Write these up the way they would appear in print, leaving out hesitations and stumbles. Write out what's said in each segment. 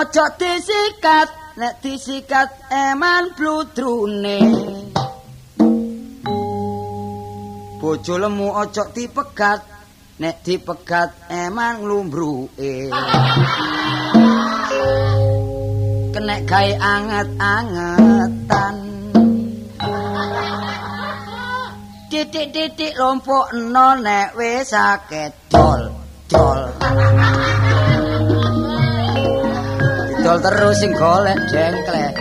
Ojo disikat, nek disikat eman bludrune. Bojo lemu ojo dipegat, nek dipegat eman nglumbruke. Kenek gawe anget-angetan. Titik-titik lompokno nek wis akeh dol. Didol terus sing golek jengklek.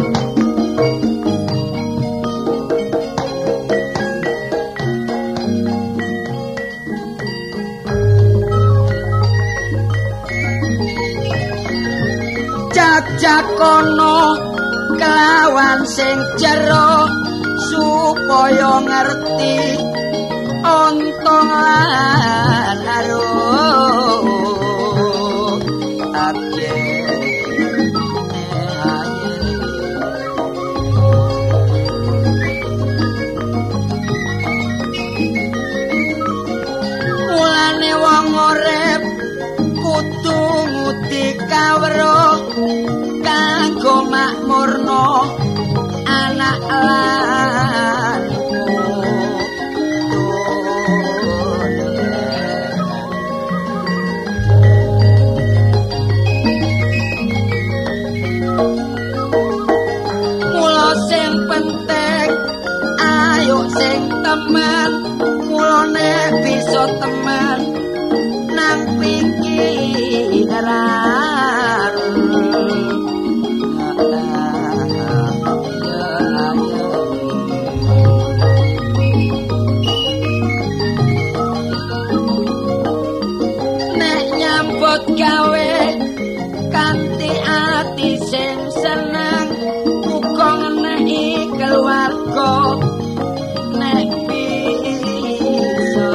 Jajakono kelawan sing jero supaya ngerti ontong lan aruh abye mulane wong urip kudu nguti kawruh kanggo makmurno anak lan mula sing penting ayo sing temen mulane bisa temen nang pikiran. Gawe kanthi ati sing seneng uga ngeneki keluarga nek bisa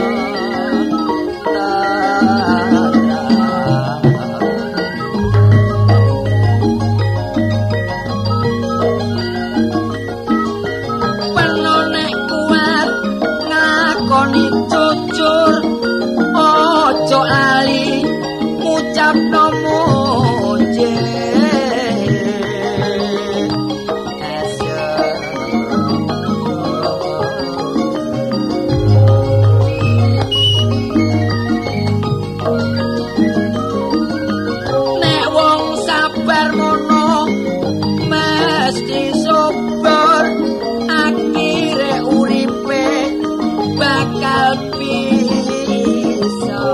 perlu nek kuat ngakoni jujur ojo lali ucapno muji nek wong sabar mono mesti subur akhire uripe bakal bisa.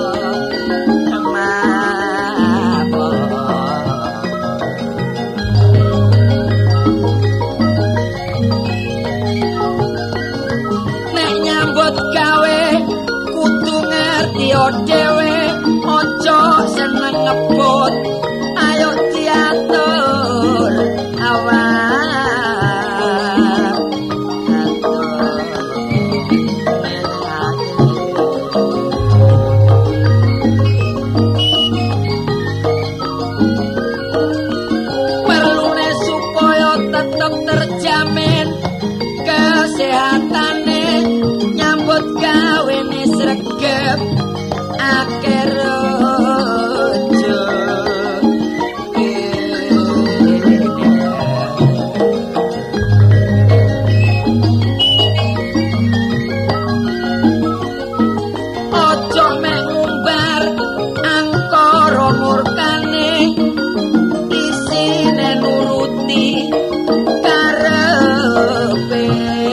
Dhewe ojo seneng ngebut ayo diatur awak perlune supaya tetep terjamin kesehatane nyambut gawene sregep akhir rojo ojo mek ngumbar angkara murkane isine nuruti karepe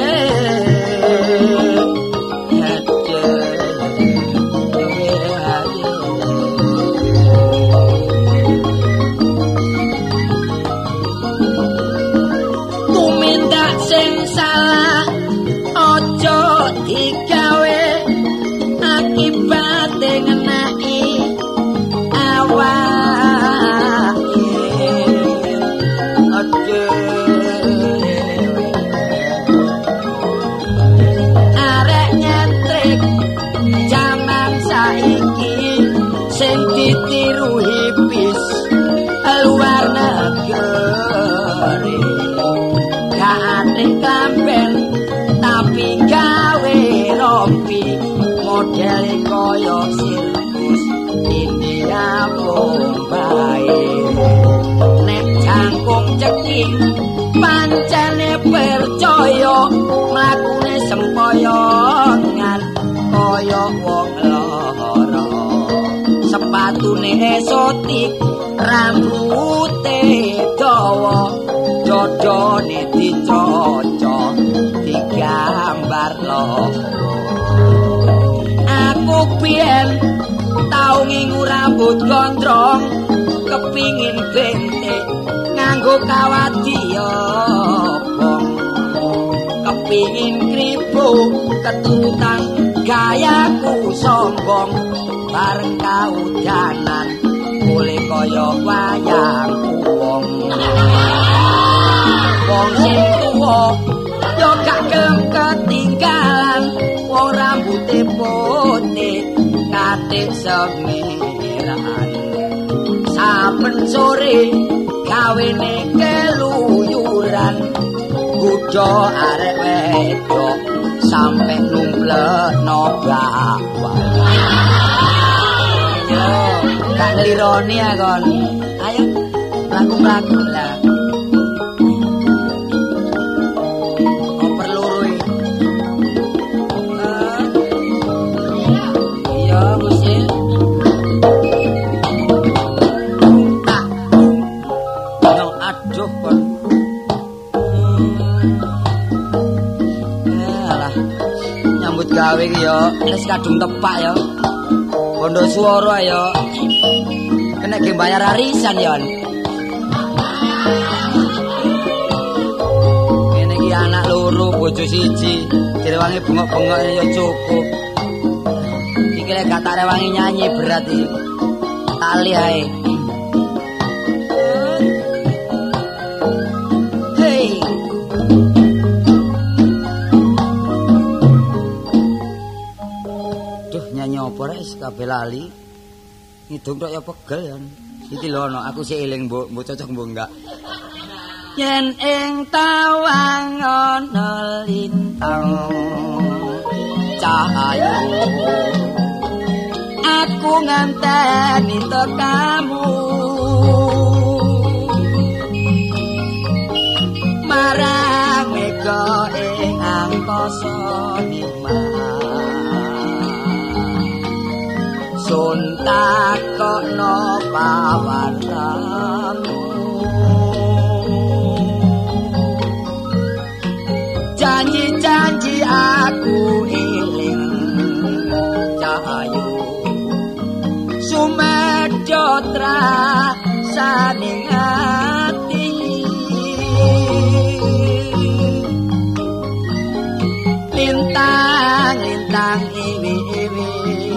sing salah ojo digawe akibate ngenaki awake ojo arek nyentrik jaman saiki sing ditiru hipis luar negeri klamben tapi gawe rompi model koyo sirkus India Bombay. esotik rambute dawa dodone dicocok digambar lo aku biyen tau ngingu rambut gondrong kepingin bentek nganggo kawat diobong kepingin kribo ketutan gayaku sombong bareng kaudanan mulai kaya wayang wong wong sing tuwa yo gak gelem ketinggalan wong rambuté putih katik semiran saben sore gawene keluyuran kuda arek wedok sampe numplekno bawah yo gak nglironi ya kon ayo mlaku-mlaku lah gawe iki yo wis kadung tepak yo. Bondo swara yo. Kena ge bayar arisan yo. Ngene iki anak loro bojo siji, direwangi bengok-bengok yo cukup. Iki lek gak tak rewangi nyanyi berat iki. Tali ae. Apa rek kabeh lali. Ngidung tok ya pegel ya. Iki lho ana aku sik eling mbok cocok mbok enggak. Yen ing tawang ana lintang cahaya aku nganteni tekamu marang mega ing angkasa sun takokno pawartamu janji-janji aku eling cahayu sumedotra saning ati lintang-lintang iwi-iwi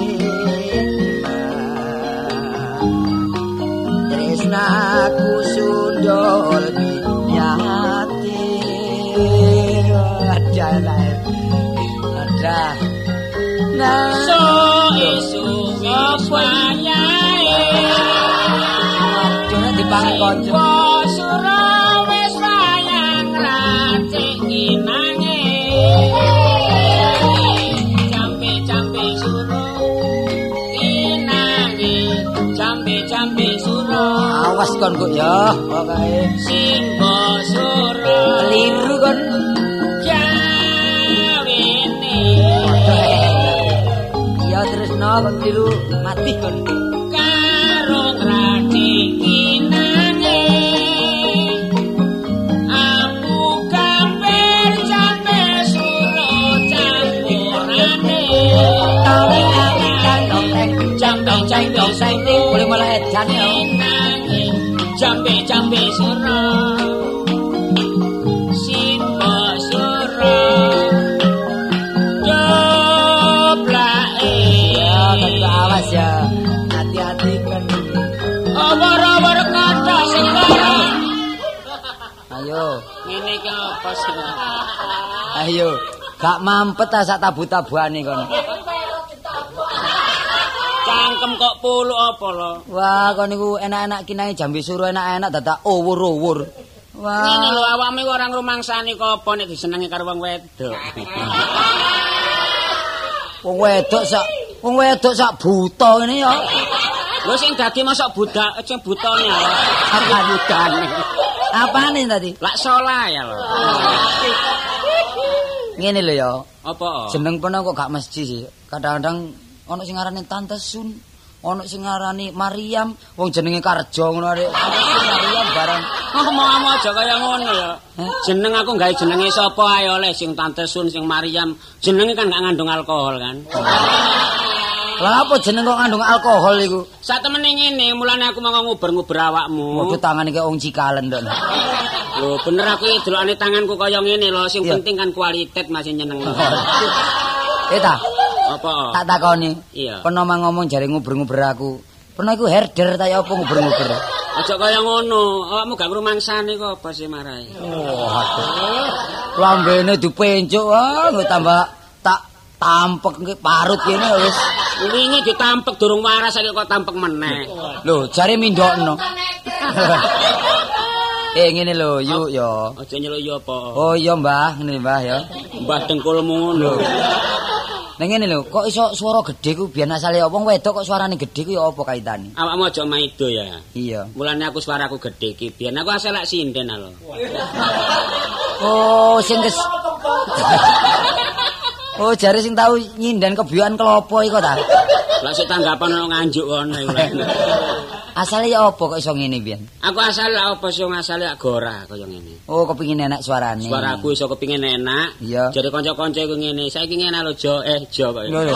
aku sundol nyati ada nah so isu wayahe dene dipangan kanca sura wis wayang racik kinange jambe-jambe sura kinange jambe-jambe sura awas kon kok ya pokoke simbo sura keliru kon jawene ya tresno kon keliru mati kon karo rati kinane aku kabar jambe sura campurane jambe-jambe saiki boleh malah edan ya jambe sura simba sura joblake ya tak awas ya hati-hati kan awar-awar kata sekarang ayo ngene iki apa sih ayo gak mampet ta sak tabu-tabuane kon cangkem kok puluk apa lho. Wah, kon niku enak-enak kinae jambe suruh enak-enak dadak uwur-uwur. Wah. Ngene lho awakmu ora ngrumangsani kok apa nek disenengi karo wong wedok. Wong wedok sak buta ngene ya. Lho sing dadi mosok budak sing butane. Apa budane? Apane tadi? Lak solah ya lho. Ngene lho ya. Apa? Jeneng peno kok gak mesti sih. Kadang-kadang ana sing ngarane Tante Sun, Ono sing ngarani Maryam, wong jenenge Karjo ngono arek. Maryam barang. Ngomong aja kaya ngono ya. Jeneng aku gawe jenenge sapa ae oleh sing Tante Sun, sing Maryam. Jenenge kan gak ngandung alkohol kan. Lah apa jeneng kok ngandung alkohol iku? Sak temene ngene, mulane aku mau nguber-nguber awakmu. Waduh tangane kaya wong Cikalen tok. Lho bener aku iki delokane tanganku kaya ngene lho, sing penting kan kualitas masih nyeneng. Ta. Apa? Tak takoni. Iya. Peno ngomong jare nguber-nguber aku. Peno iku herder ta ya apa nguber-nguber? Aja kaya ngono, awakmu gak ngrumangsani kok apa sih marai. Oh, aduh. Lambene dipencuk, nggo tambah tak tampek nggih parut kene wis. Wingi ditampek durung waras saiki kok tampek meneh. Lho, jare mindokno. Ngene lho, yuk ya. Aja nyeluk ya apa. Oh iya, Mbah, ngene Mbah ya. Mbah dengkulmu ngono. Ning ngene lho, kok iso swara gedhe ku biyen asale wong wedok kok suarane gedhe ku ya apa kaitane? Awakmu aja maido ya. Iya. Mulane aku suaraku gedhe iki. Biyen aku asal lak sinden lho. Oh, sing Oh, jare sing tau nyinden kebiyokan klopo iku ta? Lah sik tanggapan ono nganjuk kono iku. Asale ya apa kok iso ngene biyen? Aku asal lak apa sing asale lak gora kaya ngene. Oh, kepengin enak suarane. Suaraku iso kepengin enak. Iya. Jadi kanca-kanca iku ngene, saiki ngene lho Jo kok. Lho.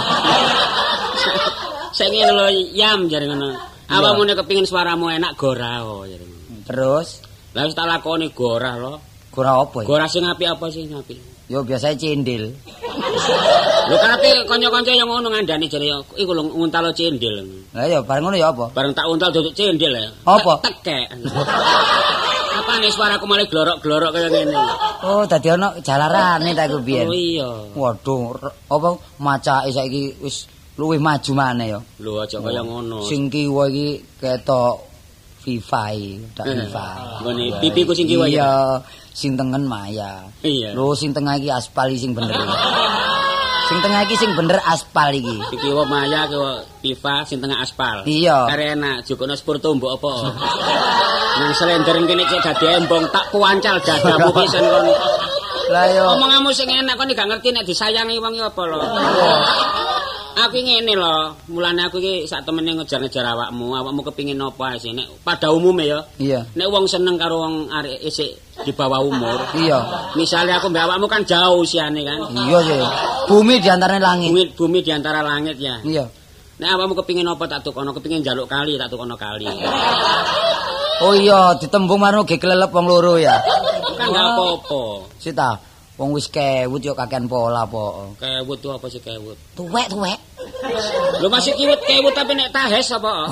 Saiki ngene lho Yam jare ngono. Awakmu nek kepengin suaramu enak gora jare ngono. Terus, lah wis tak lakoni gora lho. gora apa ya? Gora sing apik apa sih apik? Yo biasanya cendil. Lho kan ape kanca-kanca yang ngono ngandani jare iku lho nguntalo cendil. Lah ya bareng ngono ya apa? Bareng tak untal duduk cendil ya. Apa? Tekek. Apa nih suaraku malah glorok-glorok kaya ngene. Oh, dadi ana jalarane ta iku biyen. Oh iya. Waduh, apa macake saiki wis luwih maju maneh ya. Lho aja kaya ngono. Sing kiwa iki ketok FIFA iki, tak FIFA. Ngene pipiku sing kiwa ya. Iya, sing tengen Maya. Iya. Lho sing tengah iki aspal sing bener. Sing tengah iki sing bener aspal iki. Sing kiwa Maya kiwa FIFA sing tengah aspal. Iya. Are enak jukono spur tumbuk apa. Nang slender kene cek dadi embong tak kuancal dadamu pisan kon. Lah yo. Omonganmu sing enak kon gak ngerti nek disayangi wong apa lho. Aku ngene lho, mulane aku iki sak temene ngejar-ngejar awakmu kepengin apa sih nek pada umume ya. Iya. Nek wong seneng karo wong arek isik di bawah umur. Iya. Misalnya aku mbak awakmu kan jauh usiane kan. Iya sih. Bumi di antara langit. Bumi di antara langit ya. Iya. Nek awakmu kepengin apa tak tukono, kepengin njaluk kali tak tukono kali. Oh iya, ditembung marno ge kelelep wong loro ya. Kan gak apa-apa. Sita, wong wis kewut yo kakean pola po. Kewut tuh apa sih kewut? Tuwek. Lu masih kewut tapi nek tahes apa?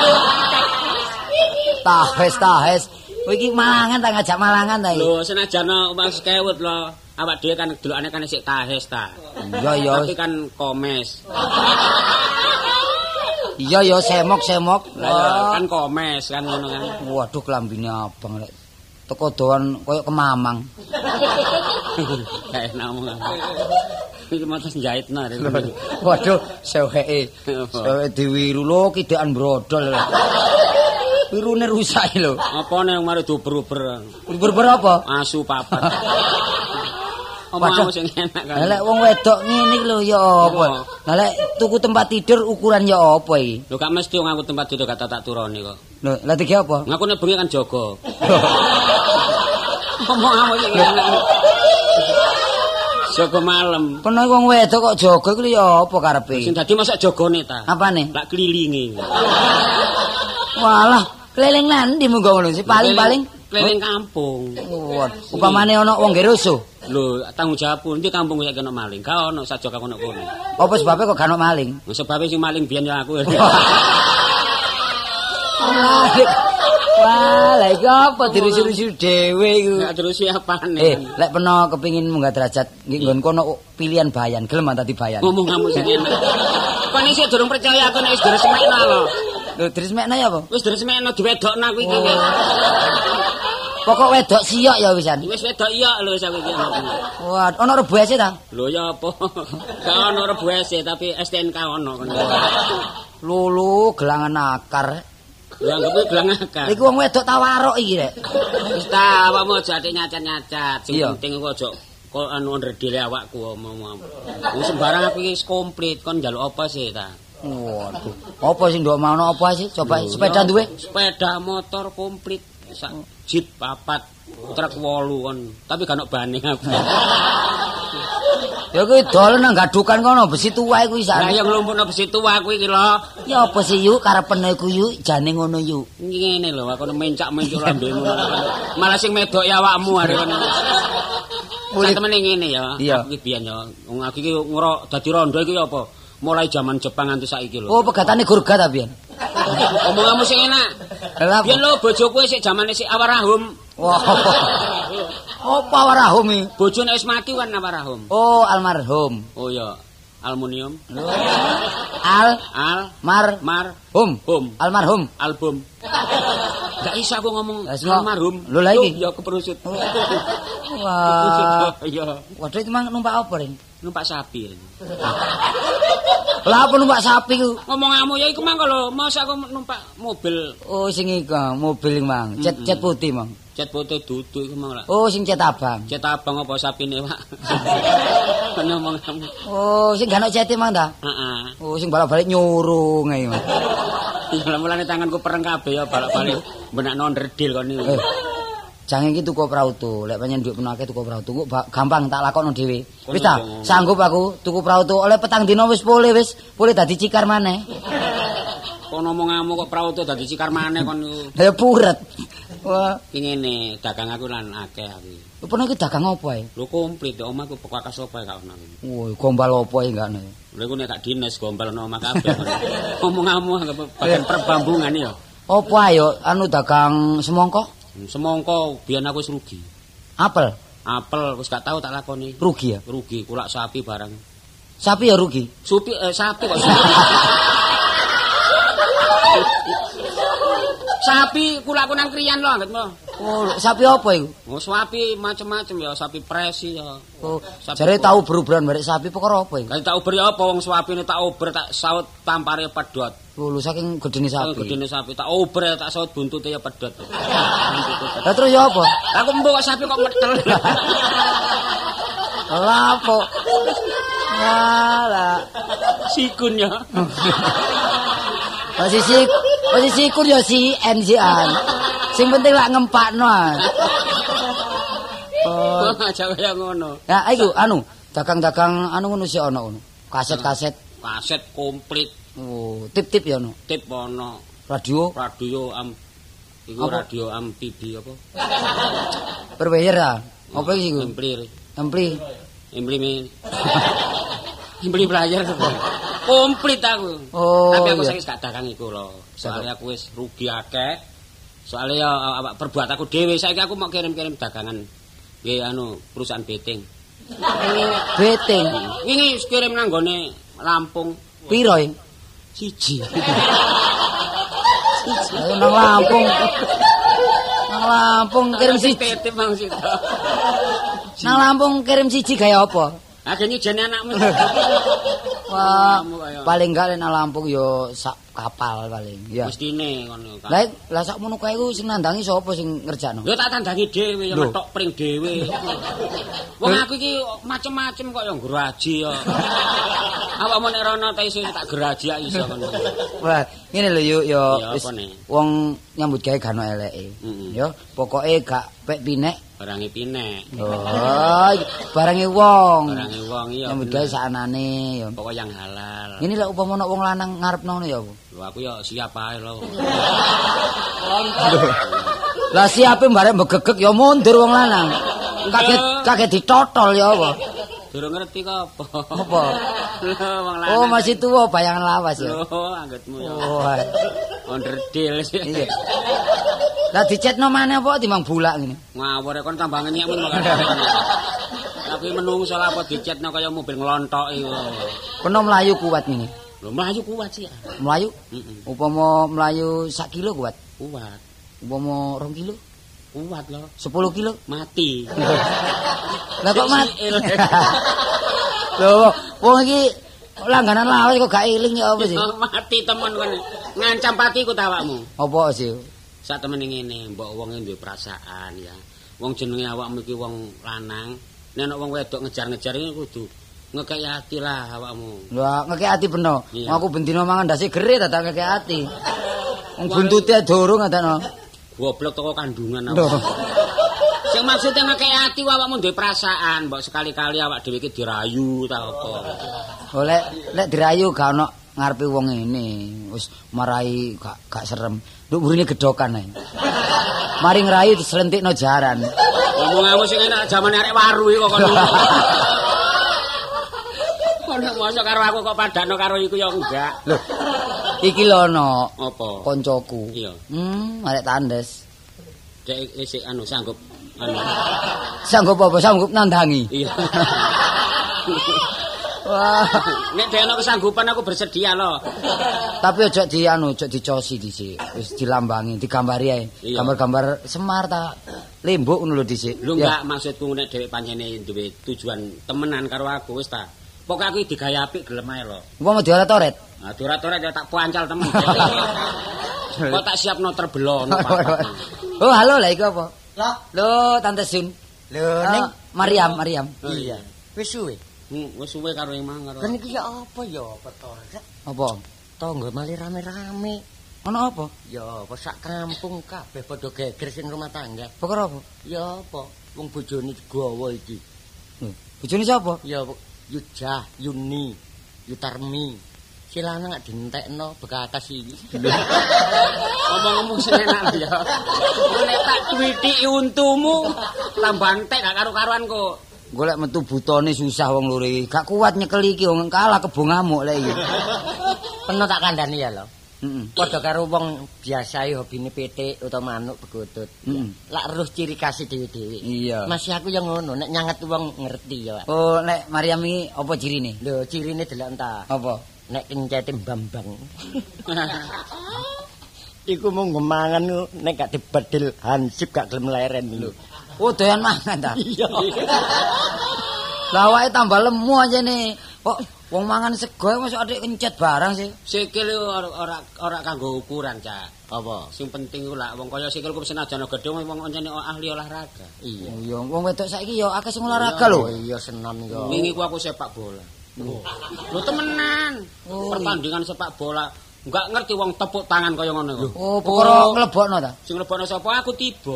Tahes. Kowe iki Malangan ta ngajak Malangan ta iki? Lho senajan mas kewut lho. Awak dhewe kan delokane kan isik tahes ta. Iya. Tapi kan komes. Iya semok. Lah kan komes kan ngono kan. Waduh klambine abang lek. Teko doan koyo kemamang. Kayak ngomong. Iki mates jahitna. Waduh, seweke. Seweke diwiru lho kidekan brodol. Wirune rusak lho. Apa nek mari duber-uber. Uber apa? Asu papat. Omongmu sing enak kan. Lah lek wong wedok ngene iki lho ya apa? Lah lek tuku tempat tidur ukuran ya apa iki? Lho gak mesti ngaku tempat tidur kata tak turone kok. Lho, lah iki apa? Ngaku nek bengi kan jaga. Omongmu sing enak. Jaga malam. Peno wong wedok kok jaga iki ya apa karepe? Sing dadi masak jagane ta. Apane? Lak kelilingi. Walah, keliling nandi munggo ngono sih paling-paling keliling kampung. Waduh, upamane ana wong nggih rusuh. Lho, tanggung jawabku ndi kampung kok kena maling. Ka ono sajak aku nek kono. Apa sebabnya kok gak ono maling? Sebabe sing maling biyen ya aku. Wah, lha iki apa dirusi-rusi dhewe iku? Gak terusi apane. Lek peno kepengin munggah derajat nggih nggon kono pilihan bayan, gelem tadi bayan. Ngomong kamu sing enak. Kon isih durung percaya aku nek wis diresmekno lho. Lho, diresmekno ya apa? Wis diresmekno diwedokno aku iki. Pokok wedok siok ya wisan. Wis wedok iya lho wis aku iki. Wah, ono rebuese ta? Lho ya apa? Gak ono rebuese tapi STNK ono kono. Lulu gelangan akar. Ya anggap gelang akar. Iku wong wedok tawarok iki rek. Wis ta, awakmu aja ati nyacat-nyacat. Sing Iya. penting iku aja kok anu ndredile awakku omong. Wis sembarang aku iki komplit kon njaluk apa sih ta? Waduh. Apa sing ndok mau apa sih? Coba sepeda duwe? Sepeda motor komplit. Sak jeep 4, truk 8 kon. Tapi gak ono bane aku. Ya kuwi dolen nang gadukan kono besi tuwa kuwi sak. Lah ya nglumpukno besi tuwa kuwi iki lho. Ya apa sih yuk karepene ku yuk jane ngono yuk. Ngene lho aku mencak-mencuk lambemu. Malah sing medok ya awakmu arek kono. Mulih temene ngene ya. Aku iki biyen ya. Wong aku iki dadi rondo iki apa? Mulai zaman Jepang nganti saiki lho. Oh, pegatane gurga ta biyen. Omonganmu sing enak. Lah biyen lho bojoku sik zamane sik awarahum. Wah. Apa awarahum iki? Bojone wis mati kan awarahum. Oh, almarhum. Oh ya, aluminium. Hum. Almarhum. Album. Gak isa aku ngomong almarhum. Lho lha iki ya keperusut. Wah. Iya. Waduh iki mang numpak apa, Ring? Numpak sapi. Lah apa numpak sapi ku? Ngomonganmu ya iku mang lho, masa aku numpak mobil. Oh, sing iku mobil iki mang. Cet putih mang. Cet putih dudu iku mang lah. Oh, sing cet abang. Cet abang apa sapine, Pak? Ngomonganmu. Oh, sing gak ono cete mang ta? Heeh. Oh, sing balik-balik nyurung ae, Mang. Iya, mulane tanganku pereng kabeh ya balik-balik benakno ndredil kon niku. Jangan iki tuku prauto, lek pancen dhuwit menake tuku prauto, kok gampang tak lakokno dhewe. Wis ta, sanggup aku tuku prauto oleh petang dina wis pulih dadi cikar maneh. Kon omonganmu kok prauto dadi cikar maneh kon niku. Ya puret. Wah, iki ngene, dagang aku lan akeh aku. Apa iki dagang apa ae? Lho komplit, omahku bekas apa gak ono. Woi, gombal apa ae gak ono. Lha iku nek gak dinas gombal ono omah kabeh. Omonganmu bagian perbambungan ya. Apa ayo anu dagang semongko? Semongko biyen aku wis rugi. Apel wis gak tau tak lakoni. Rugi ya? Rugi, kulak sapi barang. Sapi ya rugi. Sapi kok. Sapi kulakku nang kriyan lho anggitmu. Oh, sapi apa iku? Oh, sapi macem-macem ya, sapi presi ya. Oh, jare tau beruberan barek sapi perkara apa iku? Lah tak uber ya apa wong sapine tak uber tak saut tampare pedhot. Oh, lho saking gedene sapi. Gedene sapi tak uber tak saut buntute ya pedhot. Lah terus ya apa? Aku mbok sapi kok metel. Lah apa? Walah, sikun ya. Posisi kur ya si NCan. Sing penting lak ngempakno. Oh, aja kaya ngono. Ya iku dagang-dagang ngono sik ana ngono. Kaset komplit. Oh, tip-tip ya ono. Tip ono. Radio iku radio amfibi apa? Perweyer ah. Apa iki iku? Impli belajar komplit aku. Oh, tapi aku saiki gak dagang iku lho. Soalnya aku wis rugi akeh. Soalnya ya perbuat aku dhewe. Saiki aku mau kirim-kirim dagangan nggih perusahaan betting. Betting. Wingi kirim nang gone Lampung. Piro iki? 1. Nang Lampung. Nang Lampung kirim 1. Titip Bang Sito. Nang Lampung kirim 1 gaya apa? Agene jane anakmu. Wah, paling gak nang Lampung yo sak kapal paling. Ya. Mestine ngono kan. Lah sak mono kae ku sing nandangi sapa sing ngerjakno? Yo tak tandangi dhewe ya metok pring dhewe. Wong aku iki macem-macem kok ya ngraji ya. Awakmu nek rono ta iso tak geraji iso ngono. Wah, ngene lho yuk yo wis wong nyambut gawe gak ono eleke. Yo, pokoke gak pek pinek barange pinek. Oh, barange wong. Barange wong iya. Nyambut gawe saknane yo. Pokoke yang halal. Ngene lek upama ana wong lanang ngarepno ngono ya apa? Lho aku ya siap ae lho. Lah siape barek mbegegek ya mundur wong lanang. Kaget ditotol ya apa? Durung ngerti kok apa. Apa? Wong lanang. Oh, masih tuwa bayangan lawas ya. Oh, anggitmu ya. Oh. Onderdil sih. Iya. Lah dicetno maneh apa timbang bulak ngene? Ngawur kon tambah ngenyekmu kok. Tapi menungso lah apa dicetno kaya mobil nglontok iku. Peno mlayu kuat ngene. Lho mlayu kuat sih ya. Mlayu? Upama mlayu 1 kilo kuat. Kuat. Upama 2 kilo? Kuat lho. 10 kilo? Mati. Lah kok mati? Lho, wong iki langganan lawas kok gak eling ya apa sih? Mati temen kon. Ngancam patiku ta awakmu. Apa sih? Sak temene ngene, mbok wonge duwe perasaan ya. Wong jenenge awakmu iki wong lanang, nek ana wong wedok ngejar-ngejar iki kudu ngekeki ati lah awakmu. Lah ngekeki ati beno. Iya. Aku bendino mangan ndase gere dadak ngekeki ati. Wong buntute durung ngateno. Goblok toko kandungan aku. Sing maksudnya ngekeki ati awakmu duwe perasaan, mbok sekali-kali awak dhewe iki dirayu ta apa. Oh lek dirayu gak ono ngarepe wong ngene. Wis marai gak serem. Nduk burine gedokan ae. Mari ngrayu dislentikno jaran. Ngomong-ngomong sing enak jamane arek waru iki kok kono. Kono mosok karo aku kok padakno karo iku ya enggak. Lho. Iki lho ono apa? Koncoku. Iya. Arek tandes. Dek isih sanggup Sanggup apa? Sanggup nandangi. Iya. Wah, nek dhewe ana kesanggupan aku bersedia loh. Tapi ojo dicosi dhisik. Wis dilambangi, digambari ae. Gambar-gambar Semar ta lembuk ngono lho dhisik. Lho enggak maksudku nek dhewe pancene duwe tujuan temenan karo aku wis ta. Pokoke aku digawe apik gelem ae lho. Wong dioret-oret. Nah, dioret-oret ya tak pancal temen. Kok tak siapno terbelono. Oh, halo lah iku apa? Loh, Tante Sun. Lho, ning Mariam. Iya. Wis suwe. Wis suwe karo emang karo. Kan iki ya apa ya, Beto? Apa? Tangga mali rame-rame. Ono apa? Ya, apa sak kampung kabeh padha geger sing rumah tangga. Perkara apa? Ya apa? Wong bojone digawa iki. Bojone sapa? Ya Yujah, Yuni, Yutarmi. Si lanang gak dientekno bekas iki. Ngomong-ngomong sing enak ya. Nek tak duwiti untumu tambah entek gak karo-karuan kok. Golek metu butone susah wong loro iki. Gak kuat nyekel iki wong kalah kebo ngamuk lek iki. Peno tak kandhani ya lho. Heeh. Padha karo wong biasa hobine petik utawa manuk begotut. Lak roh ciri khas dhewe-dhewe. Iya. Masih aku yang ngono, nek nyanget wong ngerti ya, Pak. Oh, nek Mariam iki apa cirine? Lho, cirine delok entah. Apa? Nek kencete Bambang. Iku mau ngemangan nek gak dibedil hansip gak gelem leren lho. Oh, doyan mangan ta? Iya. Lah awake tambah lemu aja nih. Kok wong mangan sego masuk adik kencet barang sih. Sikil ora kanggo ukuran, Cak. Apa? Sing penting ku lak wong kaya sikilku senajan gedhe wong pancene ahli olahraga. Iya. Oh iya, wong wedok saiki ya akeh sing olahraga lho. Iya, senam yo. Wingi ku aku sepak bola. Lho temenan. Pertandingan sepak bola. Enggak ngerti wong tepuk tangan kaya ngono kok. Oh, perkara nglebokno ta? Sing nglebokno sapa aku tiba.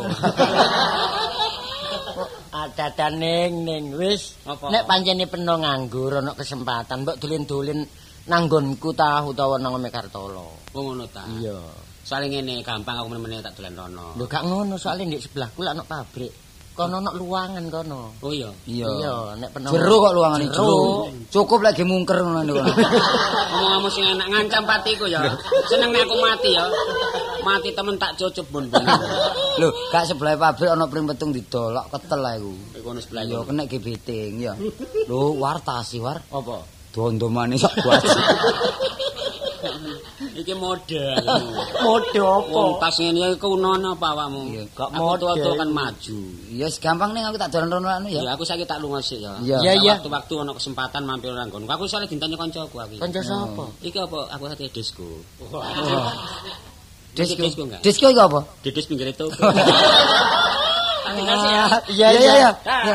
Ada ning wis. Nek pancene peno nganggur ana kesempatan mbok dolen-dolen nanggonku ta utawa nang Mekartolo. Oh ngono ta. Iya. Soale ngene gampang aku meneh tak dolen rono. Lho gak ngono soalnya ndek sebelahku lak ana pabrik. Kono ana luangan kono. Oh iya. Iya, nek peno. Jero kok luangane jero. Cukup lagi mungker ngono niku. Ngomong-ngomong sing enak ngancam patiku ya. Seneng nek aku mati ya. Mati temen tak cucup bon. Lho, gak sebelah pabrik ana pring petung didolok ketel ae iku. Kono sebelah Ya kena gebeting ya. Lho, wartasi war. Apa? Dondomane sak buat. Iki mode. Mode apa? Wong tas ngene iki kunono apa awakmu? Gak mode kan maju. Ya gampang ning aku tak dolan rono anu ya. Ya aku saiki tak lunga sik ya. Iya. Waktu-waktu ana kesempatan mampir nang nggonku. Aku soalnya dintanya kancaku aku. Kanca sapa? Iki apa? Aku hati disco. Disco enggak? Disco iki apa? Didis pinggir itu. Iya.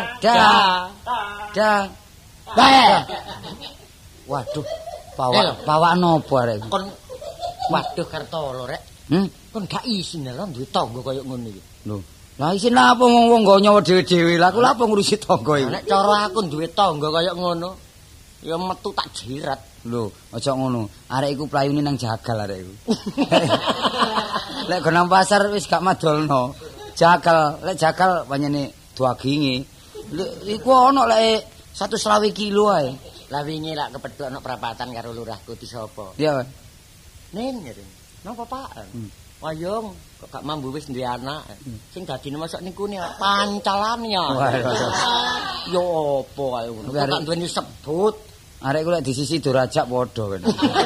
Dah. Waduh, bawa nopo arek. Kon waduh Kartolo rek. Kon gak isin lho duwe tangga kaya ngono iki. Lho, lah isin apa wong nggo nyawa dhewe-dhewe. Lah aku lha apa ngurusi tangga iki? Nek cara aku duwe tangga kaya ngono, ya metu tak jirat. Lho, aja ngono. Arek iku playune nang jagal arek iku. Lek go nang pasar wis gak madolno. Jagal, lek jagal pancene duaginge. Iku ana lek 120 kilo ae. Lah wingi lak kepethuk ana prapatan karo lurahku di sapa? Iya. Ning ngene. Napa Pak? Wayung kok gak mambu wis duwe anak. Sing dadine masuk niku ne pancalan ya. Yo apa ae ngono. Kok duweni sebut. Arek ku lek di sisi durajak padha kan.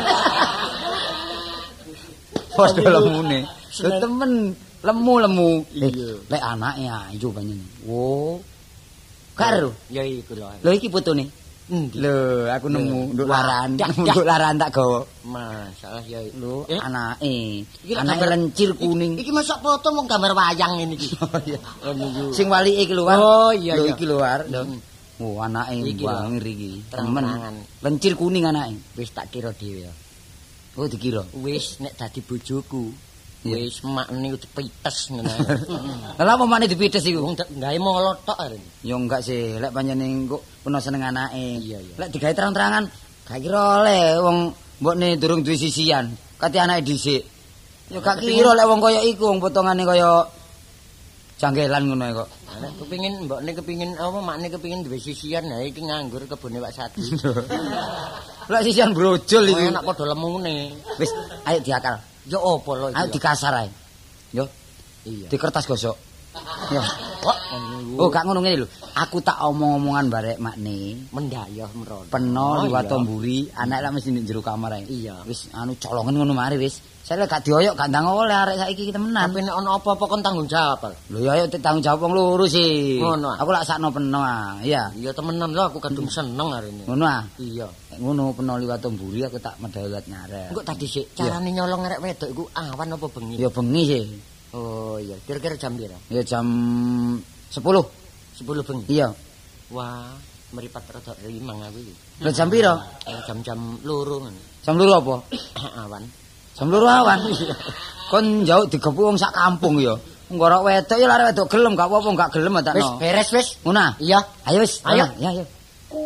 Padha lemune. Temen lemu. Lek anake ayu panjenengan. Wo. Karo. Ya iku lho. Lho iki fotone. Lho, aku nemu nduk laran. Nduk laran tak gawa. Masalah ya lho anake. Anake lencir kuning. Iki masak foto mung gambar wayang ngene iki. Sing walike iki lho, War. Oh iya. Lho iki lho, War. Oh, anake bangir iki. Temen. Lencir kuning anake. Wis tak kira dhewe ya. Oh, dikira. Wis nek dadi bojoku. Wis makne dipites ngono. Lah apa makne dipites iku? Gawe molot tok arep. Ya enggak sih, lek panjenengan kok peno seneng anake. Iya. Lek digawe terang-terangan, gak kira oleh wong mbokne durung duwe sisian. Kate anake dhisik. Ya gak kira lek wong kaya iku wong potongane kaya janggelan ngono kok. Nek kepengin mbokne kepengin apa makne kepengin duwe sisian, ha iki nganggur kebune Pak Sadi. Lek sisian brojol iki. Enak padha lemune. Wis, ayo diakal. Ya apa lho iki? Ayo dikasar ae. Yo. Iya. Di kertas gosok. Yo. Oh, gak ngono ngene lho. Aku tak omong-omongan barek makne. Mendayoh merono. Peno liwat tomburi, anak lak mesti ning jero kamar ae. Iya. Wis anu colongen ngono mari wis. Saya gak dioyok gak ndang oleh arek saiki temenan. Tapi nek ana apa-apa kon tanggung jawab. Lho ya ayo tanggung jawab wong loro sih. Ngono. Aku lak sakno peno ah. Iya. Iya temenan lho aku kadung seneng arene. Ngono ah. Iya. Ngono peno liwat tomburi aku tak medawat nyarek. Engko tadi sik carane nyolong arek wedok iku awan apa bengi? Ya bengi sih. Oh iya, kira-kira jam pira? Ya jam 10. 10 bengi. Iya. Wah, meripat rada rimang aku iki. Lah jam pira? Jam-jam 2 ngono. Jam 2 apa? Awan. Jam 2 awan. Kon jauh digepuk wong sak kampung ya. Engko ora wedok ya arek wedok gelem gak apa-apa gak gelem tak. Wis beres wis. Ngono. Iya. Ayo wis. Ayo. Ya ayo.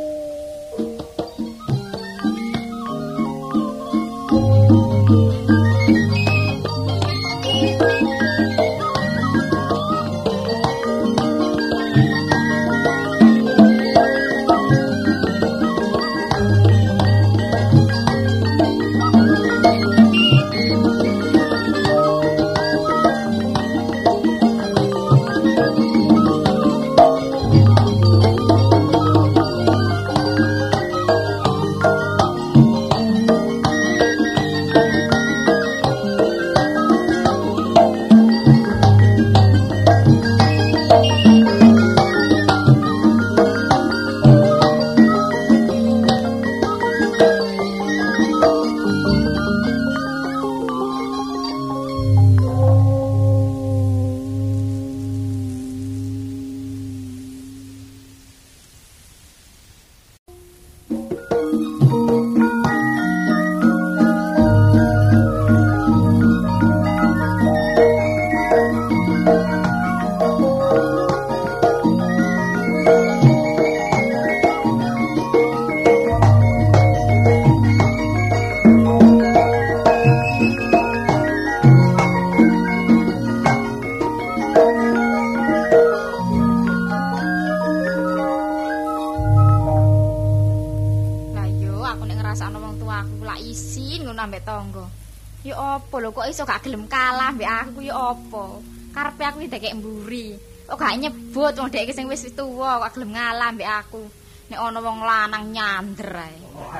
Iso gak gelem kalah mbek aku ya apa? Karepe aku iki dekek mburi. Kok gak nyebut wong dek iki sing wis tuwa kok gelem ngalah mbek aku. Nek ana wong lanang nyander ae.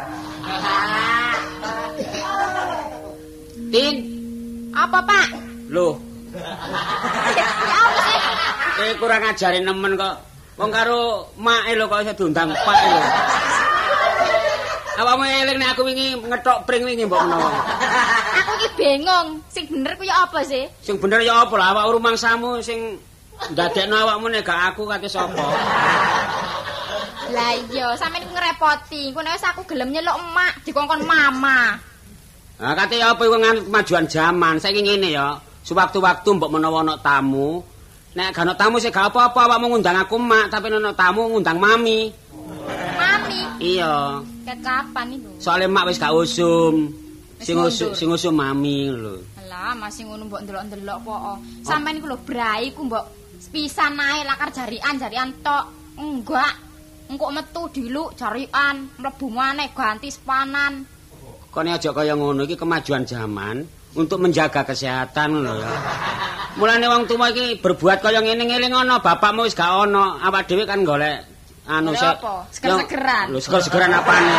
Tin. Apa, Pak? Loh. Ya apa sih? Kurang ajarin nemen kok. Wong karo make lho kok iso diundang Pak lho. Awakmu eling nek aku wingi ngethok pring wingi mbok menawa. Aku iki bingung, sing bener ku ya apa sih? Sing bener ya apa lah awak rumangsamu sing ndadekno awakmu nek gak aku kate sapa? Lah iya, sampeyan iku ngrepoti. Engko nek wis aku gelem nyeluk emak dikongkon mama. Nah, kate apa iku kemajuan zaman. Saiki ngene ya, sewaktu-waktu mbok menawa ana tamu, nek gak ana tamu sing gak apa-apa awakmu ngundang aku emak, tapi nek ana tamu ngundang mami. Mami? Iya. Ket kapan iku? Soale emak wis gak usum. Sing usum mami lho. Lah, masih ngono mbok ndelok-ndelok kok. Sampeyan iku lho brai ku mbok pisan ae lakar jarian tok. Enggak. Engko metu diluk jarian, mlebu maneh ganti sepanan. Kone aja kaya ngono iki kemajuan zaman untuk menjaga kesehatan lho ya. Mulane wong tuwa iki berbuat kaya ngene ngeling ana bapakmu wis gak ana, awak dhewe kan golek anu seger-segeran. Lho seger-segeran apane?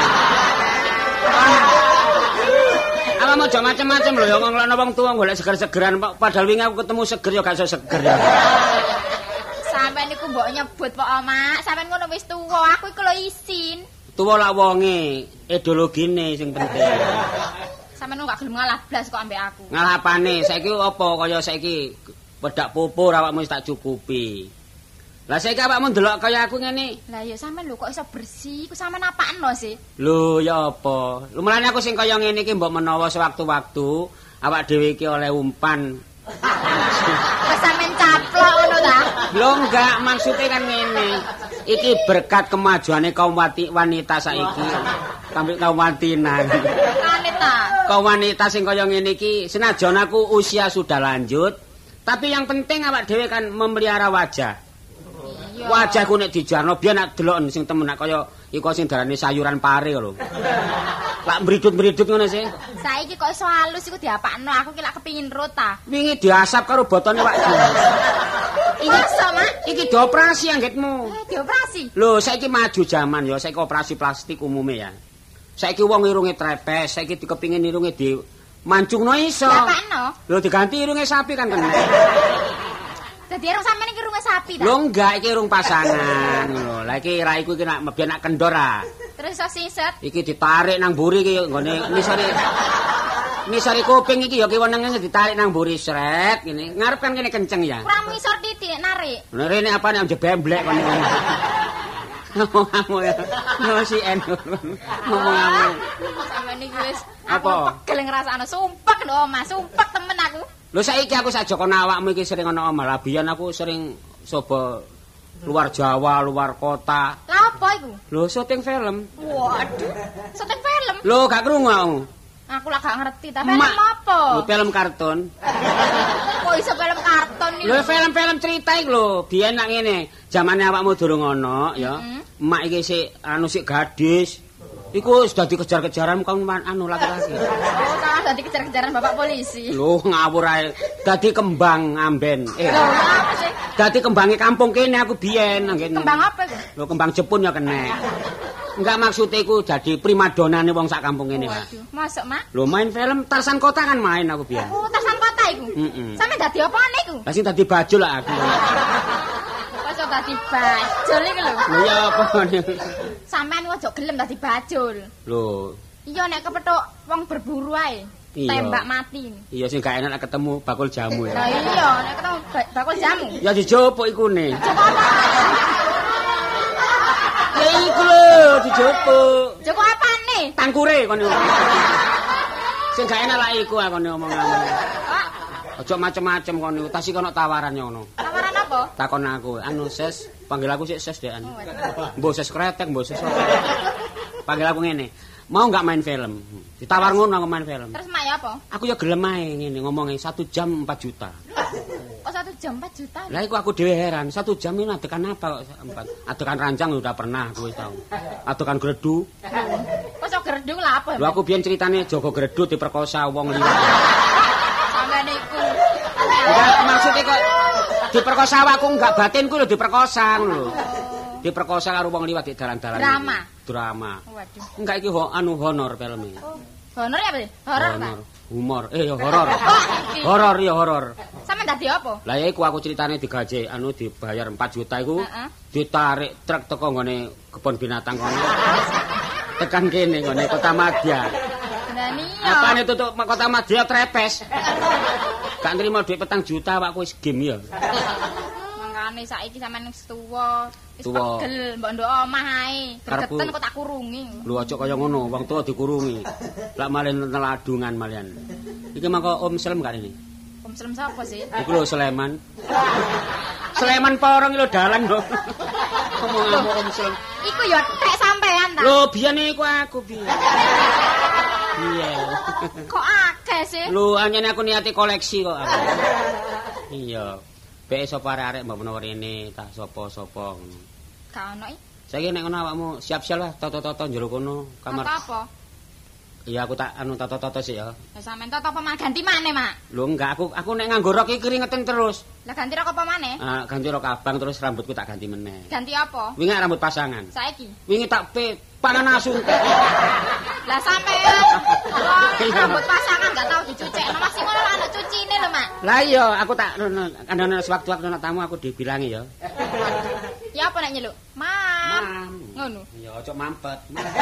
Ala mau aja macam-macam lho ya ngono wong tuwa golek seger-segeran padahal wingi aku ketemu seger ya gak iso seger ya. Sampeyan niku mbok nyebut Pak Mak, sampeyan ngono wis tuwa, aku iku lho isin. Tuwa lak wonge, ideologine sing penting. Sampeyan gak gelem ngalah blas kok ambek aku. Ngalah apane? Saiki apa kaya saiki wedak pupur awakmu wis tak cukupi. Lah saiki awakmu ndelok kaya aku ngene. Lah ya sampean lho kok iso bersih, ku sampean apakno sih? Lho ya apa? Lho mulane aku sing kaya ngene iki mbok menawa sewaktu-waktu awak dhewe iki oleh umpan. Wes sampean caplok ngono ta? Lho enggak, maksudnya kan ngene. Iki berkat kemajuane kaum wanita saiki. Kaum wanita. Wanita. Kaum wanita sing kaya ngene iki senajan aku usia sudah lanjut, tapi yang penting awak dhewe kan memelihara wajah. Wajahku nek dijarno biyen nek delok sing temen nek kaya iku sing darane sayuran pare lho. Lak mridut-mridut ngono sih. Saiki kok iso halus iku diapakno, aku ki lak kepengin rot ta. Wingi diasap karo botone Pak Jo. Iki sama? Iki dioperasi anggitmu. Dioperasi. Lho, saiki maju jaman ya, saiki operasi plastik umume ya. Saiki wong irunge trepes, saiki dikepingin irunge di mancungno iso. Diapakno? Lho diganti irunge sapi kan kena. Dadi irung sampean iki irunge sapi ta? Lho enggak, iki irung pasangan lho. Lah iki raiku iki nek mbiyen nek kendor ah. Terus iso siset. Iki ditarik nang mburi iki nggone nisare kuping iki ya kiwenenge ditarik nang mburi sret ngene. Ngarep kan kene kenceng ya. Kurang ngisor titik narik. Lha rene apa nek jebemblek kon iki. Ngomong ya. No si en. Ngomong. Sampeyan iki wis Apa? Pegel ngrasakno sumpek lho Mas, sumpek temen aku. Lho saiki aku sajak ana awakmu iki sering ana omah. Lah biyen aku sering coba luar Jawa, luar kota. Lah apa iku? Lho syuting film. Waduh, syuting film. Lho gak krungu aku. Aku lah gak ngerti, ta film apa? Lho film kartun. Kok iso film kartun iki? Lho film-film cerita iki lho. Biyen nak ngene, zamane awakmu durung ana ya. Emak iki sik sik gadis. Iku sudah dikejar-kejaran kan anu laki-laki. Oh, salah dadi kejar-kejaran bapak polisi. Lho ngawur ae. Dadi kembang amben. Lho, apa sih? Dadi kembange kampung kene aku biyen nggih. Kembang apa iku? Lho kembang Jepun ya kena. Enggak maksud iku dadi primadonane wong sak kampung kene, Pak. Waduh, masuk, Mak? Lho main film Tarsan Kota kan main aku biyen. Oh, Tarsan Kota iku. Sampe dadi apaan iku? Lah sing dadi bajul lah aku. Kok dadi bajul iki lho. Lho ya apa Sampeyan ojo gelem dadi bajul. Lho. Iya nek kepethuk wong berburu ae. Tembak mati. Iya sing gak enak ketemu bakul jamu ya. Lah iya nek ketemu bakul jamu. Ya dijopuk ikune. Joko apa? Ya iku lho dijopuk. Joko apane? Tangkure kono. Sing gak enak lah iku aku ngomong. Ojo macem-macem kono. Tas iki ono tawaran ngono. Tawaran apa? Takon aku, anu Ses, panggil aku sik Ses dek anu. Mbok Ses kretek, mbok Ses. Panggil aku ngene. Mau enggak main film? Ditawar ngono aku main film. Terus mak ya apa? Aku ya gelem ae ngene ngomongnya 1 jam 4 juta. Kok 1 jam 4 juta? Lah iku aku dhewe heran, 1 jam ini adegan apa kok 4? Adegan ranjang udah pernah aku wis tau. Adegan gredu. Kok sok gredu lah apa? Lho aku biyen ceritane Joko Gredu diperkosa wong liwat. Sampeyan iku. Enggak maksudnya kok diperkosa awakku enggak batinku lho diperkosa ngono lho. Diperkosa karo wong liwat di dalan-dalan. Drama. Waduh. Enggak iki anu honor filme. Honor ya, Pak? Horor ta? Humor. Ya horor. Horor ya horor. Sampe dadi apa? Lah ya iku aku ceritane digaji anu dibayar 4 juta iku. Ditarik truk teko nggone kebon binatang kono. Tekan kene nggone Kota Madya. Iya. Apane tutuk Kota Madya trepes. Gak nrimo dhuwit 4 juta awakku wis game ya. Mangkane saiki sampean wis tuwa, wis Tuwa. pegel mbok ndok omah ae. Gregeten kok tak kurungi. Lho aja kaya ngono, wong tuwa dikurungi. Lak malen teladungan malian. Iki mangko Om Slem gak ini? Om Slem sapa sih? Iku lho Sleman. Sleman Porong lho dalan lho. Ngomong Om Slem. Iku ya tek sampean ta? Lho biyen iku aku biyen. Iya. Kok akeh sih? Lho anyane aku niati koleksi kok aku. Iya. Bek sapa arek-arek mbok menawa rene tak sapa-sapa ngono. Gak ono iki. Saiki nek ngono awakmu siap-siap lah toto-toto njero kono kamar. Apa? Iya aku tak anu toto-toto sih ya. Lah sampean toto apa ganti maneh, Mak? Lho enggak aku nek nganggo rok iki keringetan terus. Lah ganti rok apa maneh? Ganti rok abang terus rambutku tak ganti meneh. Ganti apa? Wingi rambut pasangan. Saiki. Wingi tak pangan asu. Lah sampean rambut pasangan gak tau dicucekno masih ngono ana cucine lho, Mak. Lah iya aku tak ana sewaktu-waktu ana tamu aku dibilangi ya. Ya apa nek nyeluk? Mam. Ngono. Ya aja mampet.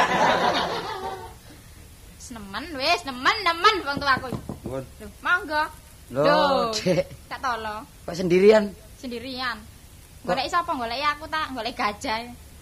Nemen wong tuaku. Nuwun. Lho, monggo. Lho, Cek. Tak tolo. Kok sendirian? Sendirian. Goleki sapa? Goleki aku tak, goleki gajah.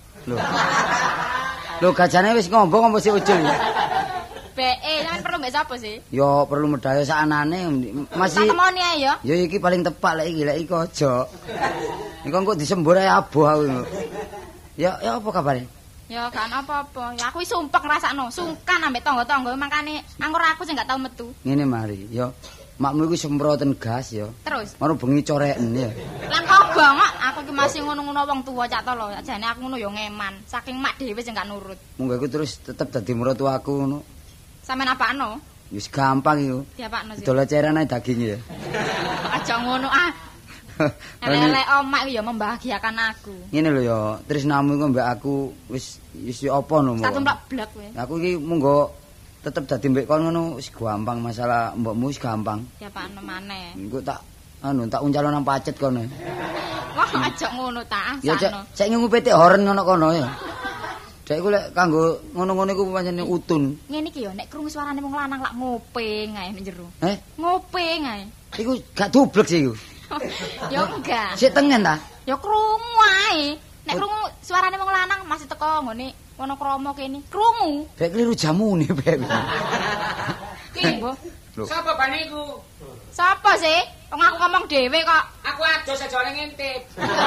Lho gajane wis ngombong apa sih Ucul? Sampeyan perlu mbek sapa sih? Yo perlu medal sakanane masih. Tak temoni ae yo. Yo iki paling tepak lek iki aja. Engko kok disembur ae aboh aku. Ya apa kabare? Ya kan apa-apa. Ya aku wis sumpek ngrasakno, sungkan ambek tangga-tangga makane anggur aku sing gak tau metu. Ngene mari, yo makmu iku semproten gas yo. Terus. Ngono bengi coreken ya. Lan kok banget aku ki masih ngono-ngono wong tuwa cak to lho. Jane aku ngono yo ngeman. Saking mak dhewe sing gak nurut. Monggo iku terus tetep dadi mertuaku ngono. Sampeyan apakno? Wis gampang iku. Diapakno sih? Dol eceran ae daging ya. Aja ngono ah. Elek omak ya membahagiakan aku. Ngene lho ya, tresnamu iku mbek aku wis apa no. Satu mlak blek kowe. Aku iki monggo tetep dadi mbek kon ngono wis gampang, masalah mbokmu wis gampang. Diapakno maneh? Engko tak uncalon nang pacet kono. Wah, aja ngono ta. Ya cek ngupeti horen ngono kono ya. Dek iku lek kanggo ngono-ngono iku pancen utun. Ngene iki ya nek krungu suarane wong lanang lak ngopeng ae nek jero. Ngopeng ae. Iku gak dublek sih iku. Ya enggak. Sik tengen ta? Ya krungu ae. Nek krungu suarane wong lanang masih teko ngene Wonokromo kene. Krungu. Bek kliru jamune bek. Ki, Mbah. Sapa bane iku? Sapa sih? Wong aku ngomong dhewe kok. Aku ados aja oleh ngintip.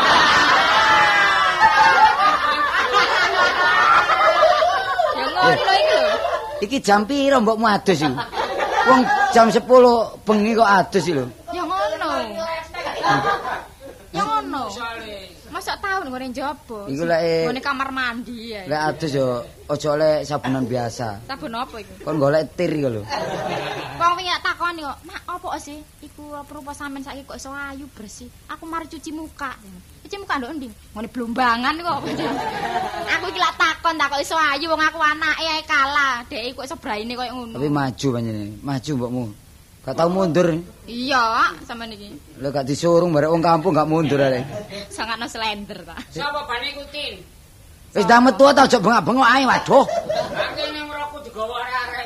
Ya ngono iki lho. Iki jam piro mbokmu adus iki? Wong jam 10 bengi kok adus iki lho. Ya ngono. Ya ngono. Masa tahun ngene njaba. Iku lek ngene kamar mandi ya. Lek adus yo aja oleh sabunan biasa. Sabun apa iku? Kon golek tir iku lho. Wong wingi tak takoni kok, "Mak, apa sih? Iku apa sampean saiki kok iso ayu bersih? Aku mari cuci muka." Cuci muka ndok endi? Ngene blombangan kok. Aku iki lak takon tak kok iso ayu wong aku anake ae kalah. Dek kok iso braine koyo ngono. Tapi maju panjenengan. Maju mbokmu. Gak tau mundur. Iya, sampean iki. Lek gak disuruh barek wong kampung gak mundur arek. Sangatno slender ta. Sapa bane ikutin? Wis dah metu ta aja bengak-bengok ae waduh. Aku ning ngroku digawa arek-arek.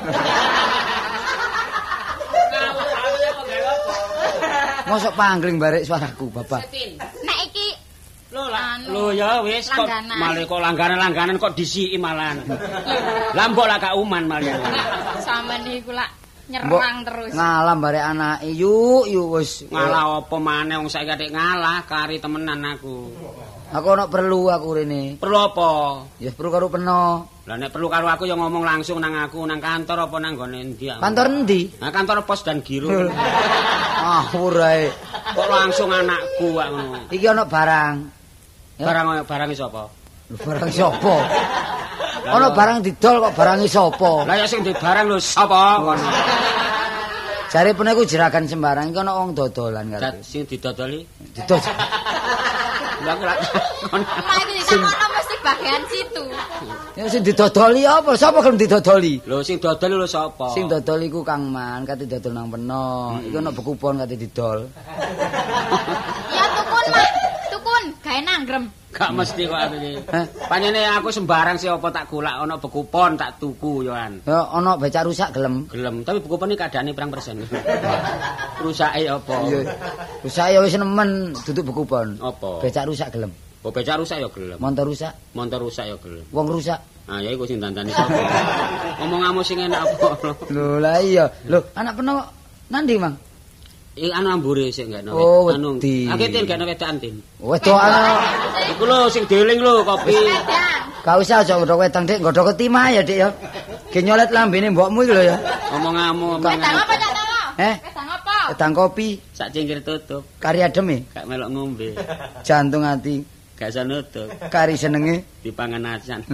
Mosok panggling barek suaraku, Bapak. Nek iki lho ya wis kok malah kok langganan kok disiki malahan. Lah mbok lah gak uman malah. Sampeyan iku lak nyerang terus. Ngalah barek anake. Yuk wis. Ngalah apa maneh wong saiki atik ngalah kari temenan aku. Aku ono perlu aku rene. Perlu apa? Ya perlu karo peno. Lah nek perlu karo aku ya ngomong langsung nang aku nang kantor apa nang gone endi. Kantor endi? Nah kantor pos dan giro. Ah ora. Kok langsung anakku kok ngono. Iki ono barang. Barang sapa? Lho barang sapa? Ono barang didol kok barange sapa? Lah ya sing di barang lho sapa kono. Jare pene iku jeragan sembarang iki ono wong dodolan karo. Sing didodoli? Didol. Lah kok Mak iki ditakokno mesti bagian situ. Ya sing didodoli apa? Sapa gelem didodoli? Lho sing dodol lho sapa? Sing dodol iku Kang Man, kate dodol nang peno. Iku ono bekupon kate didol. Ya tukun, Mak. Tukun, gawe nanggrem. Gak mesti kok aku iki. Panjene aku sembarang sih apa tak golak ana bekupon tak tuku yoan. Ya ono becak rusak gelem. Gelem, tapi bekupon iki kadane pirang persen. Rusake apa? Iya. Rusak ya wis nemen duduk bekupon. Apa? Becak rusak gelem. Oh becak rusak ya gelem. Montor rusak, Montor rusak ya gelem. wong rusak. Ah ya iku sing dandani sapa. Ngomong sing enak apa. Lho lah iya. Lho anak peno nandi, Mang? Iki anu ambure sik enggak Oh, anu. wedi. Aketin gak wedakan tin. Wedokan. Iku lho sing deling lho kopi. Gak usah aja nggodhok wedang, Dik. Nggodhok ketimah ya, Dik ya. Ge nyolet lambene mbokmu iki lho ya. Ngomong Wedang apa Cak Tolo? Wedang apa? Wedang kopi, sak cingkir tutup. kari adem e, Gak melok ngombe. jantung ati, Gak iso nutup. kari senenge. Dipangan acan.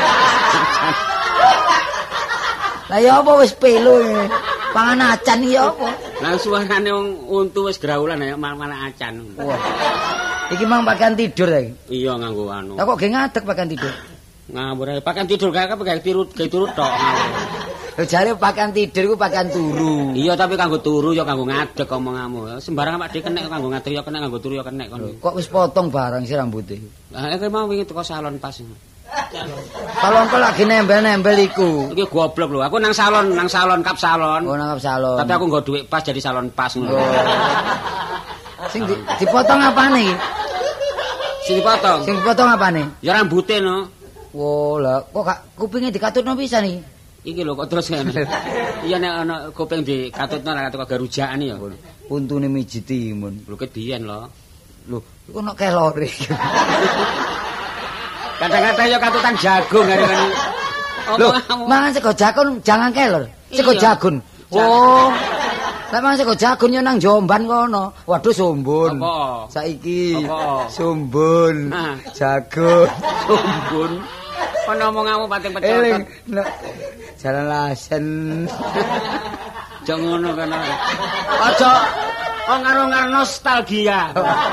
Lah ya apa wis pelo iki. Pangan acan iki ya apa? Lah suarane wong untu wis graulan ya malah acan. Wah. Iki mang pakaian tidur ta iki? Iya nganggo anu. Lah kok ge ngadeg pakaian tidur? Ngawur ae pakaian tidur gak turut tok. Lho jare pakaian tidur iku pakaian turu. Iya tapi kanggo turu ya kanggo ngadeg omonganmu. Sembarang Pak Dik kenek kanggo ngadeg ya kenek kanggo turu ya kenek kon. Kok wis potong barang sih rambutnya? Lah iki mau wingi teko salon pas. Kalau engko lagi nembel-nembel iku. Iki goblok lho. Aku nang salon kap salon. Oh nang salon. Tapi aku nggo dhuwit pas jadi salon pas ngono. Sing dipotong apane iki? Sing dipotong. Sing dipotong apane? Ya rambute no. Wo, lah kok gak kupinge dikatutno pisan iki? Iki lho kok terus ngene. Iya nek ana kuping dikatutno ra karo garujakan ya. Untune mijiti mun. Lho ket biyen lho. Lho, iku ono kelore. Kadang-kadang ya katutan jagung hari-hari. Lho, mangan sego jagung jangan kelor. Sego jagung. Oh. Lah mangan sego jagung yo nang Jombang kono. Waduh sumbun. Apa? Saiki apa? Sumbun. Nah. Jagung. Sumbun. Kono omonganmu pating pecot. Eling. Jalan lasen. Jok ngono kana. Aja ngar nostalgia.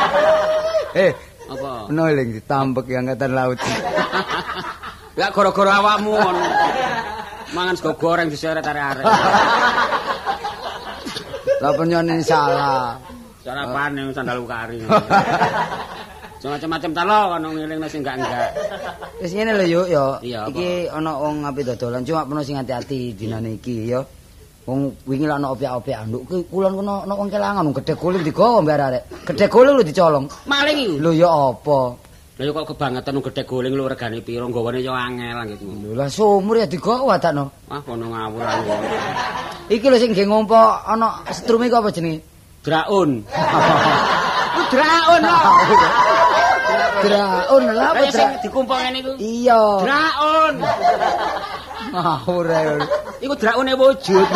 Apa? Ono eling ditambek angkatan laut. Ya gara-gara awakmu ngono. Mangan sego goreng diseret arek-arek. Lah penyonin salah. Sarapane sandal ukari. Macam-macam ta lo kono ngelingne sing enggak. Wis ngene lho yuk yo. Iki ana wong ape dodolan cuma peno sing ati-ati dinane iki yo. Wong wingi lak ana opiak-opiak nduk ki kulon kono ana wong kelangan gedhe guling digawa mbak arek. Gedhe guling lho dicolong. Maling iki. Lho ya apa? Lah ya kok kebangetan gedhe guling lho regane piro nggawane ya angel gitu. Lho lah sumur ya digawa takno. Wah kono ngawur. Iki lho sing nggih ngompo ana strume kok apa jenenge? Draun. Draun lho. Draun lha apa sing dikumpul ngene iku? Iya. Draun. Ngawur ae. Iku draune wujud.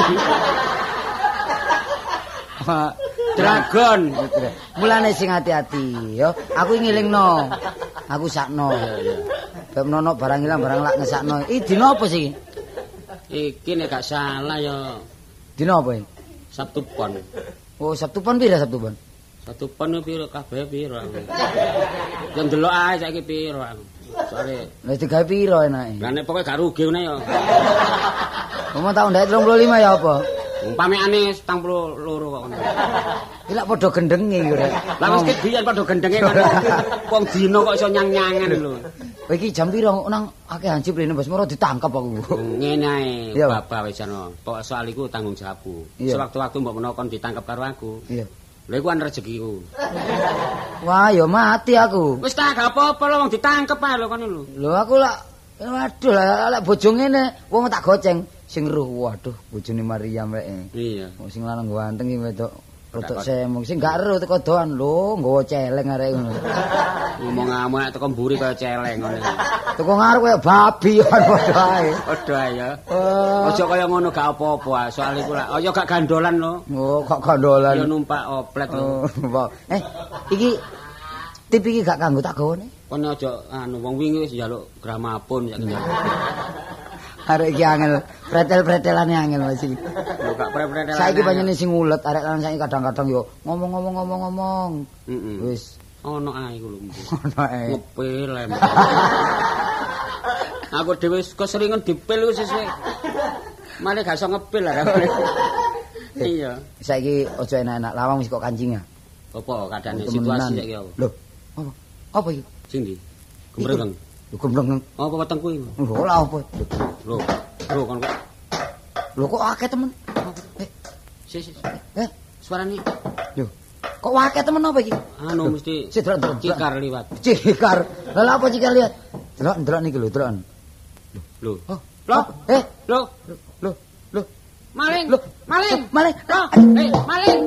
Dragon. Mulane sing ati-ati yo. Aku ngilingno. Aku sakno. Bab nono barang ilang barang lak ngesakno. Iki dina apa sih? Iki nek gak salah ya. Dina apa iki? Sabtu Pon. Oh, Sabtu Pon pira Sabtu Pon? Sabtu Pon piro kabeh piro aku. Ya ndelok ae saiki piro aku. Soale wis digawe piro enake? Lah nek pokoke gak rugi ngene ya. Ngomong tahun 35 ya apa? Umpamane 72 kok ngono. Iki lak padha gendenge iki rek. Lah wis kebiyen padha gendenge ngono. Wong dina kok iso nyang-nyangan lho. Kowe iki jam piro nang akeh hansip rene Bos Moro ditangkap aku. Ngene ae, Bapak wis ana. Pokoke soal iku tanggung jawabku. Sewaktu-waktu mbok menawa kon ditangkap karo aku. Iya. Lha iku an rezekiku. Wah, ya mati aku. Wis tak gak apa-apa lho wong ditangkep ae lho kono lho. Lho aku lak waduh lek bojo ngene wong tak goceng sing ruh waduh bojone Mariam rek. Iya. Wong sing lanang ganteng iki wedok rodok semong sing gak ero teko doan lho nggawa celeng arek ngono. Ngomong amek teko mburi kaya celeng ngono. Teko ngarep kaya babi padha ae. Padha ae ya. Aja kaya ngono gak apa-apa soal iku lak ya gak gandolan lho. Oh, gak gandolan. Ya numpak oplet lho. Iki tip iki gak kanggo tak gawane. Kon aja wong wingi wis njaluk gramapun ya njaluk. Arek iki angel, pretel-pretelane angel Mas iki. Lho gak pretel. Saiki panjenengan sing ulet, arek lan saiki kadang-kadang yo ngomong-ngomong. Wis ono ae iku lho. Ono ae. Ngepil. Aku dhewe keseringan dipil wis wis. Mane gak iso ngepil lah. Iya. Saiki aja enak-enak lawang wis kok kancing ya. Apa kadane situasi saiki apa? Lho, apa iki? Sing ndi? Gembreng. Lho gembreng. Apa wetengku iki? Lho lha apa? Lho kon kok. Lho kok akeh temen? Sik. Suarane. Lho. Kok akeh temen apa iki? Anu mesti cikar liwat. Cikar. Lah apa cikar liwat? Delok niki lho, delok. Lho. Lho. Lho. Maling. Maling. Maling. Maling.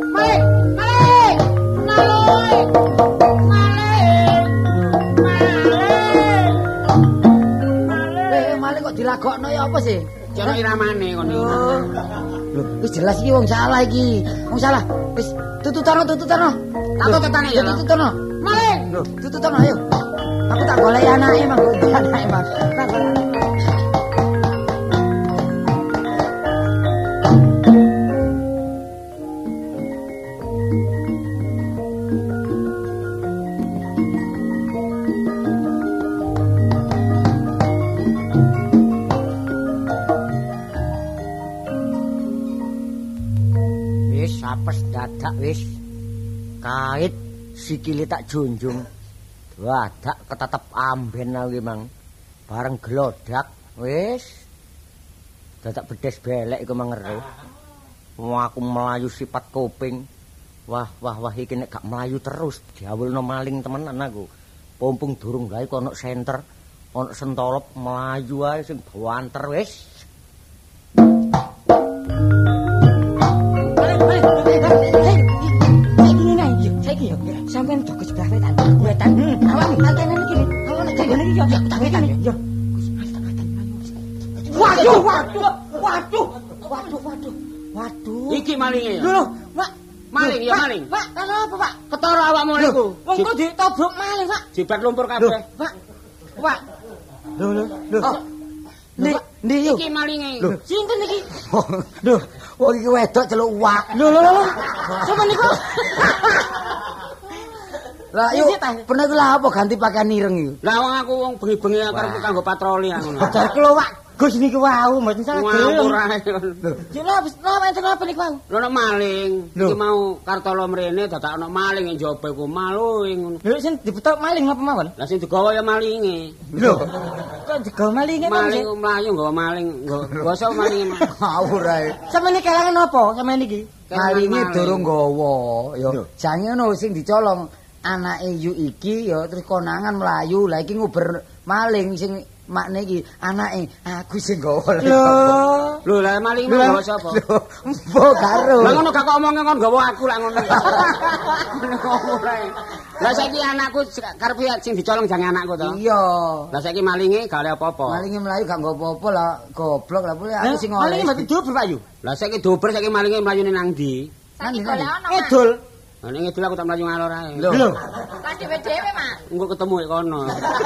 Maling kok dilagokno ya apa sih? Jono iramane ngono. Lho, wis jelas iki wong salah iki. Wong salah. Wis tututono. Tak tututane ya. Tututono. Maling. Lho, tututono ayo. Aku tak golek anake, Mang. Anake, Mang. Dadak wis kait sikile tak junjung dadak ketetep amben aku Mang bareng glodak wis dadak bedes belek iku mangeru aku melayu sifat kuping wah iki nek gak melayu terus diawulno maling temenan aku Pompong durung gawe kok ana senter, ana sentolop mlayu ae sing banter wis. Saiki yo, sampean dogo sebelah wetan. Wetan. Awak tantene iki. Awak nek jane iki yo wetan yo. Waduh. Iki malinge ya. Lho, Pak. Maling ya maling. Pak, kenapa, Pak? Ketara awakmu niku. Wong kok ditobok maling, Pak? Jibat lumpur kabeh. Pak. Pak. Lho. Oh. Ndi yo. Iki malinge. Sinten iki? Lho, wong iki wedok celuk wak. Lho. Sampe niku. Lah yo pernah ku lah apa ganti pakaian ireng iki. Lah wong aku wong bengi-bengi karep kanggo patroli ngono. Jarku lho Wak, Gus niku wau mboten salah ngawur ae. Lho, lha enten apa niku wau? Lho nek maling, iki mau Kartolo mrene dadak ana maling ing njaba iku maling ngono. Lho sing dibetok maling apa mawon? Lah sing digawa ya malinge. Lho, kok digawa malinge to? Maling mlayu nggawa maling, nggawa sapa malinge. Ngawur ae. Sampeyan kelangan apa sampeyan iki? Malinge durung nggawa yo. Jange ngono sing dicolong anake yu iki ya terus konangan mlayu. Lah iki nguber maling sing makne iki anake aku sing gawa. Lho lah maling gawa sapa? Mbok karo. Lah ngono gak kok omonge kon gawa aku lah ngono. Lah saiki anakku karepe sing dicolong jange anakku to. Iya. Lah saiki malinge gak oleh apa-apa. Malinge mlayu gak nggo apa-apa lah goblok lah boleh aku sing oleh. Malinge mati dobel Pak Yu. Lah saiki dober saiki malinge mlayune nang ndi? Saiki golek ana. Edul. Lah ning ngidul aku tak mlayu ngalor ae. Lho. Lah dhewe-dhewe, Mak. Engko ketemu e kono.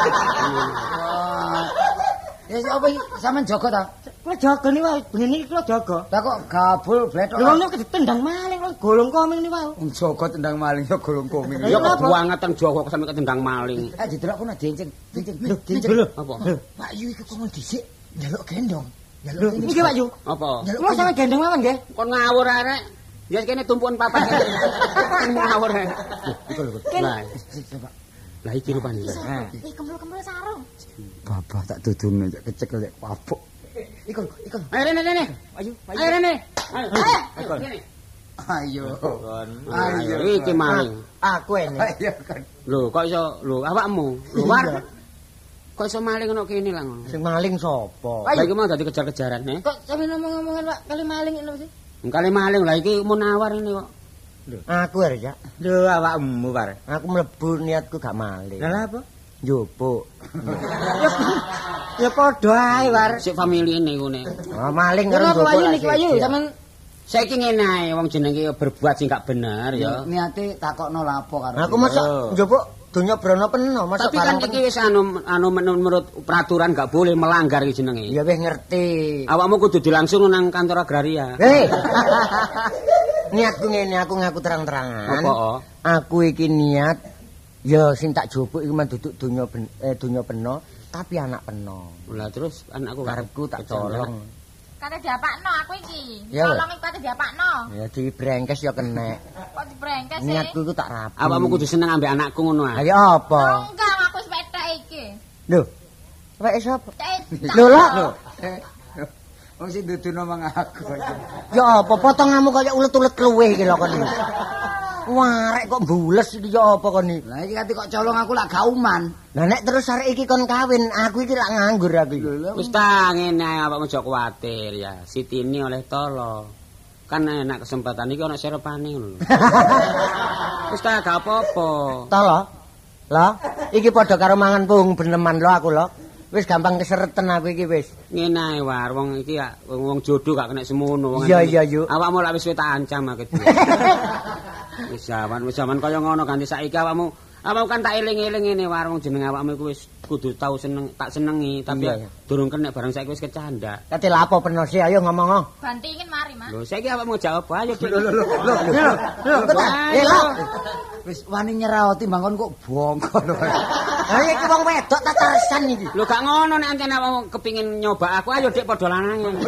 Ya apa iki sampean jaga ta? Kula jaga niku wae, bengi niki kula jaga. Lah kok gabul bletok. Lho niku ditendang maling kok golong koming niku wae. Wong jaga tendang maling ya golong koming. Ya kebuangetan Jawa kok sampe ketendang maling. Didelok kono dinceng. Lho. Apa? Pak Yu iku kok dhisik njaluk gendong. Lho, iki Pak Yu. Apa? Kula sampe gendong mawon nggih. Kon ngawur arek. Ya kene tumpukan papat. Ngawur ae. Iku lho. Lah iki rupane. Iki kembul-kembul sarung. Bapak tak dudune kecekel papuk. Iku. Ayo rene. Ayo rene. Ayo. Ayo. Iki maling. Aku ene. Ayo kan. Lho, kok iso awakmu? Lho, war. Kok iso maling ono kene lah ngono. Sing maling sapa? Lah iki mau dadi kejar-kejaran, he. Kok sampe ngomong-ngomongan Pak kali maling ngono sih? Kali maling lah iki munawar ini kok. Lho, aku arek ya. Lho, awakmu Par. Aku mlebu niatku gak maling. Lah apa? Njupuk. Ya padha ae, War. Sik famili niku ne. Oh, maling karo njupuk. Ayo niki ayo sampean saiki ngene ae wong jenenge berbuat sing gak bener ya. Niate takokno lapo karo. Aku mosok njupuk donya brana peno, mosok tapi kan iki wis anu menurut peraturan gak boleh melanggar iki jenenge. Ya wis ngerti. Awakmu kudu dilangsung nang kantor agraria. Hei. Niatku ngene, aku ngaku terang-terangan. Apa? Aku iki niat ya sing tak jupuk iki men duduk donya peno, tapi anak peno. Lah terus anakku karepku tak colong. Kate diapakno aku iki. Ya, Colong iku kate diapakno. Ya dibrengkes ya kenek. Kok dibrengkes sih? Niatku iku tak rapi. Awakmu kudu seneng ambek anakku ngono ae. Ayo apa? Enggak, aku wis petek iki. Lho. Wek sapa? Lho Lho. Wong sing duduno mang aku. Ya apa potonganmu kaya ulet-ulet kluwe iki lho kon. Wah, rek kok bules iki ya apa kon iki? Lah iki kok colong aku lak gauman. Lah nek terus arek iki kon kawin, aku iki lak nganggur aku iki. Wis ta ngene ae awakmu aja kuwatir ya. Sitini oleh tolo. Kan enak kesempatan iki ana serepane ngono lho. Wis ta gak apa-apa. Tolo. Lah, iki padha karo mangan pung beneman lho aku lho. Wis gampang kesereten aku iki wis. Ngene ae war, wong iki ya wong jodoh gak kena semono wong. Iya yuk. Awakmu lak wis tak ancam aku. Wis zaman kaya ngono ganti saiki awakmu kan tak eling-eling ngene war wong jeneng awakmu iku wis kudu tau seneng tak senengi tapi durung kena barang saiki wis kecandak. Kate lha apa bener sih ayo ngomong. Bantingin mari, Mas. Lho saiki awakmu jawab ayo. Lho. Wis wani nyerah timbang kon kok bongkol. Ha iki wong wedok tak tersan iki. Lho gak ngono nek ancen awakmu kepengin nyoba aku ayo Dik padha lanangan.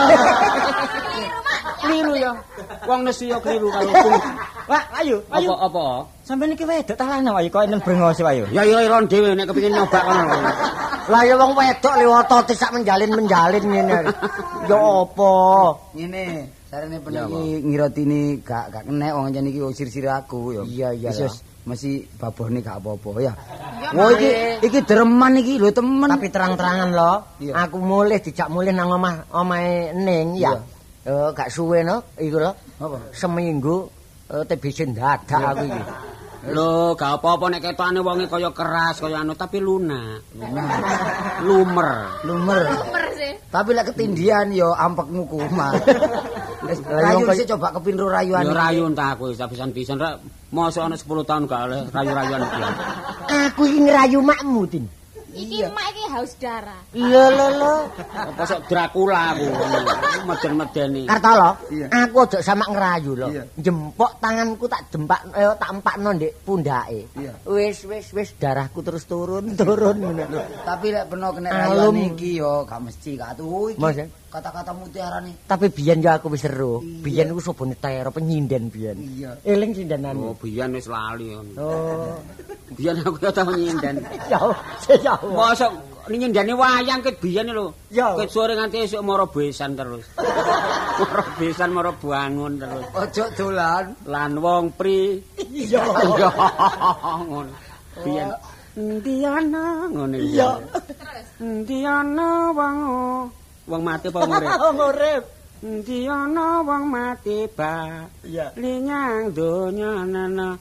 Kliru ya. Wong nesu ya kliru kalau Wah, ayo. Apa? Sampeyan iki wedok ta lanang wae kok nang brengos wae. Ya ron dhewe nek kepengin nyoba kono. Lah ya wong wedok liwat sak menjalin ngene. Ya apa? Ngene, sarene peniki ngirotini gak kenek wong njen iki usir-sir aku ya. Iya. Wis mesti babone gak apa-apa ya. Ya Wah iki dereman iki lho temen. Tapi terang-terangan lho, aku mulih dijak mulih nang omahe Ning ya. Gak suwe no, iku lho. Apa? Seminggu TBC dadak aku iki. Lho, gak apa-apa nek ketokane wonge kaya keras kaya anu tapi lunak. Lumer sih. Tapi lek ketindian yo ampekmu kumat. Rayu sik coba kepinro rayuan. Yo rayu entah aku pisan-pisan rek. Mosok ana 10 tahun gak oleh rayu-rayuan iki. Aku iki ngerayu makmu, Din. Iki mak iki haus darah. Iya lho. Apa sok Dracula aku. Meden-medeni. Kartolo, aku aja sama ngerayu lho. Jempok tanganku tak empakno ndek pundake. Wis darahku terus turun ngono. Tapi lek peno kena rayuan iki yo gak mesti gak tuh iki. Kata-kata mutiara nih. Tapi biyen yo aku wis seru. Biyen ku sobone tero penyinden biyen. Eling sindenan. Oh, biyen wis lali. Oh. Biyen aku ya tau nyinden. Ya. Mosok nyindani wayang ket biyen lho. Ket sore nganti esuk mara besan terus. Mara besan mara bangun terus. Ojo dolan lan wong pri. Iya. Ngono. Biyen endi ana ngene iki. Iya. Endi ana wong mati apa urip? Wong urip. Endi ana wong mati ba. Iya. Linyang donya nana.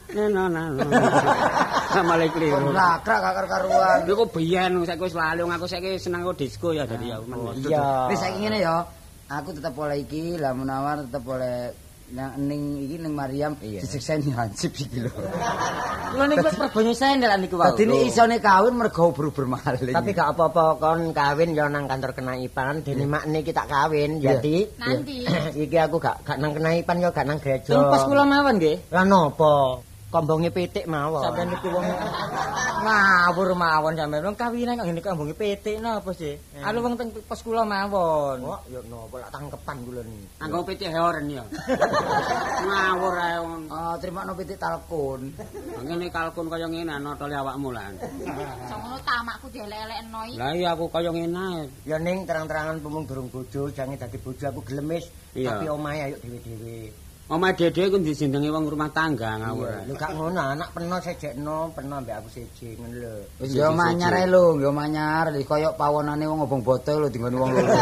Samale kliru. Lakrak gak karuan. Iku biyen saiki wis lali aku saiki seneng karo disco ya dadi ya. Iya. Wis saiki ngene ya. Aku tetep oleh iki, lah Munawar tetep oleh ning iki ning Mariam disekseni hansip iki lho. Lho niku wis perbanyu sendel niku wae. Dadi isone kawin mergo ubur-ubur maling. Tapi gak apa-apa kon kawin ya nang kantor Kenaipan, dene makne iki tak kawin. Jadi nanti iki aku gak nang Kenaipan ya gak nang gereja. Pas kula mawon nggih. Lah napa? Kombonge pitik mawon. Sampeyan iki wong ngawur mawon sampeyan. Wong kawinan kok ngene kombonge pitik napa sih? Anu wong teng pos kula mawon. Kok ya napa lak tangkepan kula niki. Anggo pitik heoren ya. Ngawur ae wong. Trimakno pitik talkun. Ngene kalkun kaya ngene notole awakmu lan. Sono tamakku dielek-elekno iki. Lah iya aku kaya ngene ae. Ya ning terang-terangan pemung durung bojo, jange dadi bojo aku gelemis. Tapi omahe ayo dhewe-dhewe. Omah dede ku dijenengi wong rumah tangga ngawur. Lho gak ngono, anak peno sejekno, peno mbek aku siji ngono lho. Wis yo manyar ae lho, yo manyar. Kaya pawonane wong obong botol lho dinggone wong loro.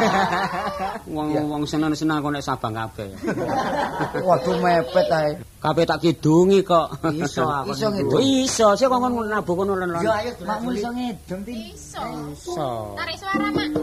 Wong seneng-seneng kok nek Sabang kabeh. Waduh mepet ae. Kabeh tak kidungi kok. Iso aku. Iso ngidung. Iso, sik kok nabuh kono lho. Yo ayo makmu iso ngidung ti. Iso. Tarik suara, Mak.